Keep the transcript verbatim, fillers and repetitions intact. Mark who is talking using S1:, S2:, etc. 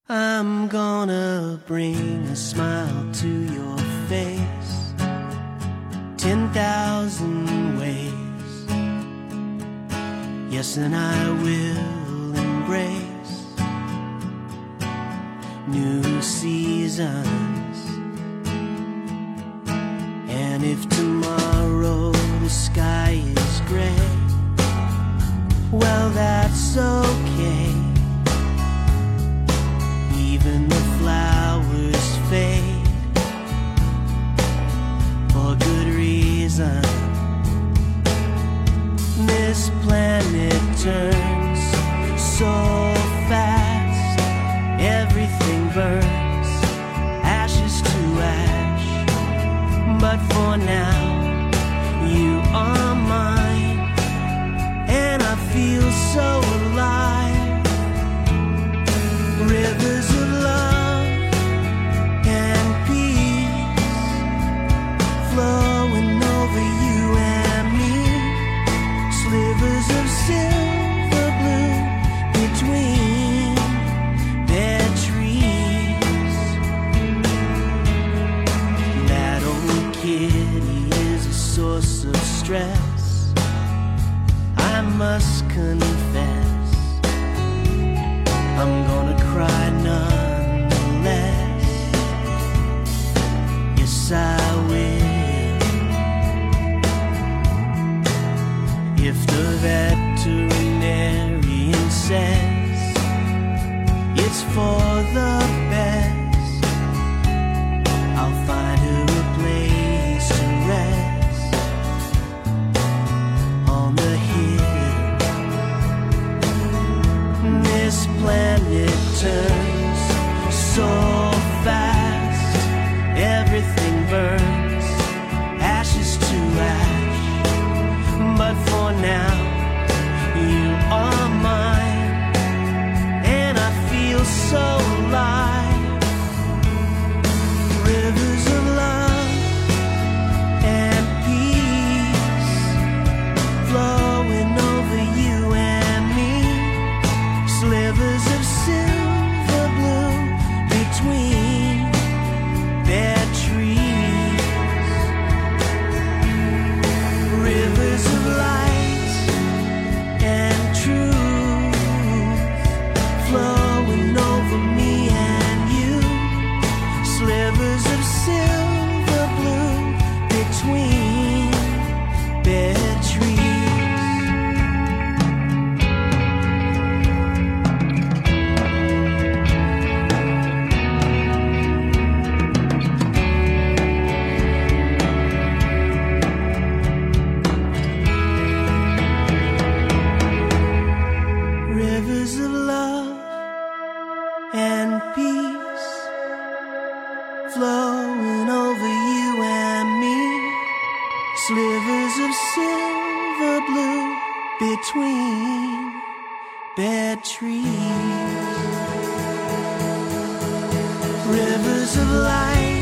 S1: I'm gonna bring a smile to your face, ten thousand ways. Yes, and I will embrace new seasons. And if tomorrow the sky is gray, well, that's okay. Even the flowers fade for good reason. This planet turns so fast, everything burns, ashes to ash. But for now, you are mine, and I feel so alive. Rivers of love and peace flowing over you and me. Slivers of silver blue between their trees. That old kitty is a source of stress, I must confess. I'm gonna cry nonetheless. Yes, I will. If the veterinarian says it's for the best, I'll find her a place to rest on the hill. This planet turns so fast, everything burns, ashes to ash. But for now, you are mine, and I feel so alive. Rivers of love and peace flowing over you and me. Slivers of silver blue between their trees. Rivers of light and truth flowing over me and you. Slivers of silver blue between their trees. Rivers of love and peace flowing over you and me. Slivers of silver blue between their trees. Rivers of light